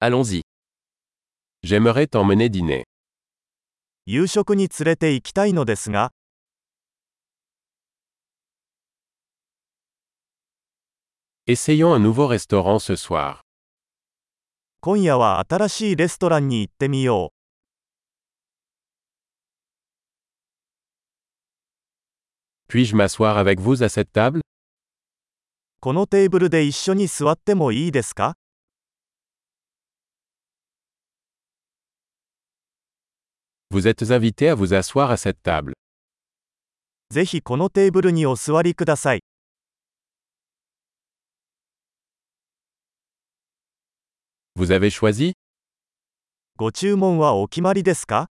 Allons-y. J'aimerais t'emmener dîner. 夕食に連れて行きたいのですが、 Essayons un nouveau restaurant ce soir. 今夜は新しいレストランに行ってみよう。 Puis-je m'asseoir avec vous à cette table? このテーブルで一緒に座ってもいいですか？ Vous êtes invité à vous asseoir à cette table. ぜひこのテーブルにお座りください。 Vous avez choisi? ご注文はお決まりですか？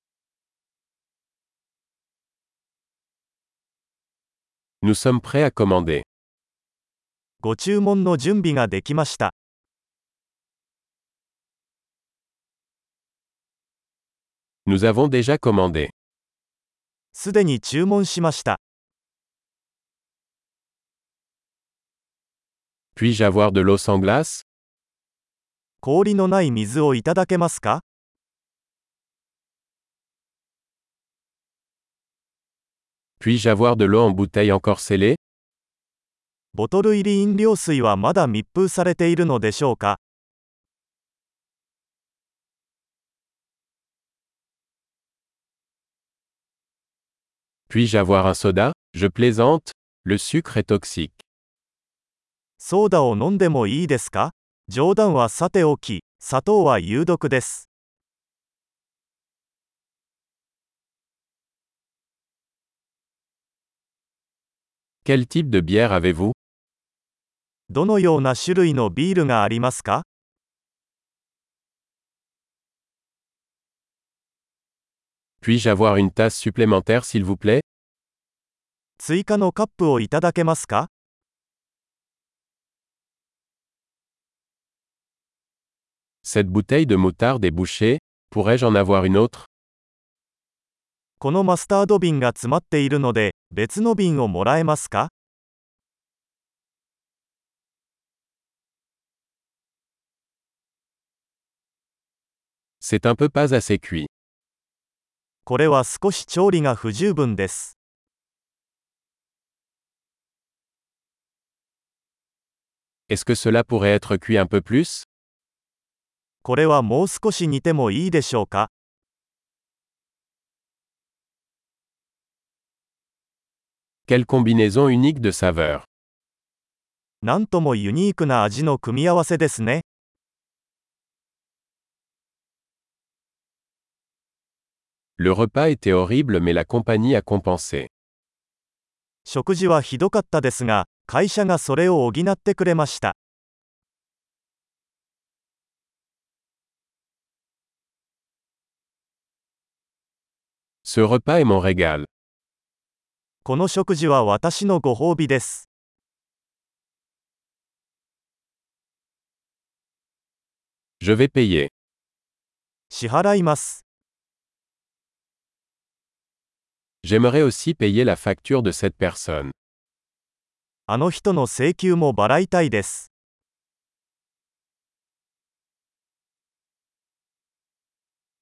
Nous sommes prêts à commander. ご注文の準備ができました。 Nous avons déjà commandé. すでに注文しました。 Puis-je avoir de l'eau sans glace? 氷のない水をいただけますか？ Puis-je avoir de l'eau en bouteille encore scellée? ボトル入り飲料水はまだ密封されているのでしょうか？ Puis-je avoir un soda? Je plaisante, le sucre est toxique. ソーダを飲んでもいいですか？冗談はさておき、砂糖は有毒です。 Quel type de bière avez-vous? どのような種類のビールがありますか？ Puis-je avoir une tasse supplémentaire s'il vous plaît? 追加のカップをいただけますか？ Cette bouteille de moutarde est bouchée, pourrais-je en avoir une autre? このマスタード瓶が詰まっているので、別の瓶をもらえますか？ C'est un peu pas assez cuit. これは少し調理が不十分です。 Est-ce que cela pourrait être cuit un peu plus? これはもう少し煮てもいいでしょうか？ Quelle combinaison unique de saveurs. なんともユニークな味の組み合わせですね。 Le repas était horrible mais la compagnie a compensé. 食事はひどかったですが、会社がそれを補ってくれました。 Ce repas est mon régal. この食事は私のご褒美です。 Je vais payer. 支払います。 J'aimerais aussi payer la facture de cette personne. あの人の請求も払いたいです。